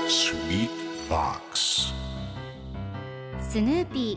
Sweet Box スヌーピ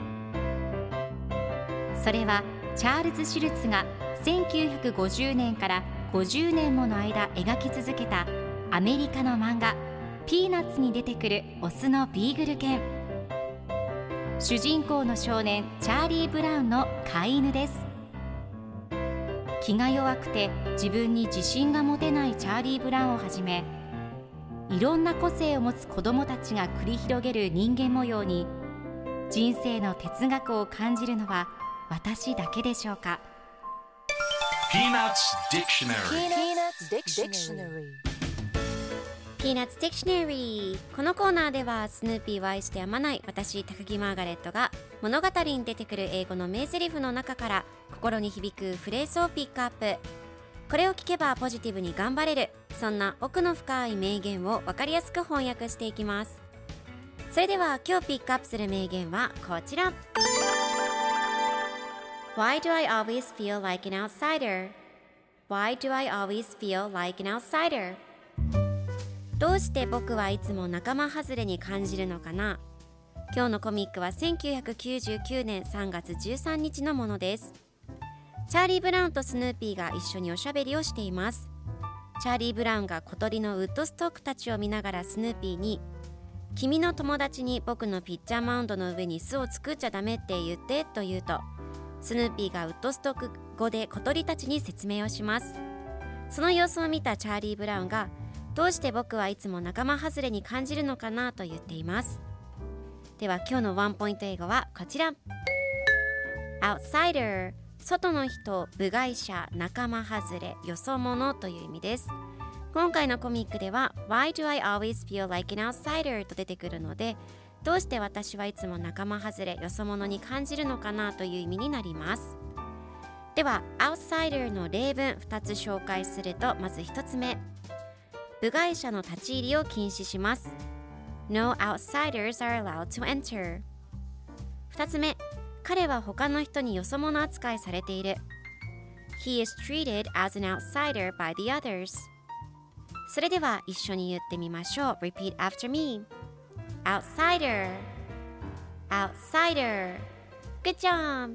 ー。それはチャールズ・シュルツが1950年から50年もの間描き続けたアメリカの漫画ピーナッツに出てくるオスのビーグル犬。主人公の少年チャーリー・ブラウンの飼い犬です。気が弱くて自分に自信が持てないチャーリー・ブラウンをはじめ、いろんな個性を持つ子どもたちが繰り広げる人間模様に人生の哲学を感じるのは私だけでしょうか。 Peanuts Dictionary Peanuts Dictionary。 このコーナーではスヌーピーを愛してやまない私高木マーガレットが物語に出てくる英語の名台詞の中から心に響くフレーズをピックアップ。これを聞けばポジティブに頑張れる、そんな奥の深い名言を分かりやすく翻訳していきます。それでは今日ピックアップする名言はこちら。 Why do I always feel like an outsider? Why do I always feel like an outsider? どうして僕はいつも仲間外れに感じるのかな。今日のコミックは1999年3月13日のものです。チャーリー・ブラウンとスヌーピーが一緒におしゃべりをしています。チャーリー・ブラウンが小鳥のウッドストックたちを見ながらスヌーピーに、君の友達に僕のピッチャーマウンドの上に巣を作っちゃダメって言ってと言うと、スヌーピーがウッドストック語で小鳥たちに説明をします。その様子を見たチャーリー・ブラウンが、どうして僕はいつも仲間外れに感じるのかなと言っています。では今日のワンポイント英語はこちら。 Outsider、 外の人、部外者、仲間外れ、よそ者という意味です。今回のコミックでは Why do I always feel like an outsider と出てくるので、どうして私はいつも仲間外れ、よそ者に感じるのかなという意味になります。では Outsider の例文2つ紹介すると、まず1つ目、部外者の立ち入りを禁止します。 No outsiders are allowed to enter。 2つ目、彼は他の人によそ者扱いされている。 He is treated as an outsider by the others。 それでは一緒に言ってみましょう。 Repeat after me。 Outsider Outsider。 Good job。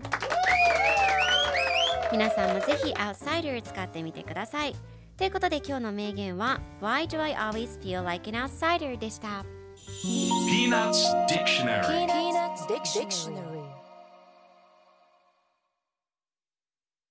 皆さんもぜひ Outsider 使ってみてください。ということで今日の名言は Why do I always feel like an outsider でした。 Peanuts Dictionary Peanuts Dictionary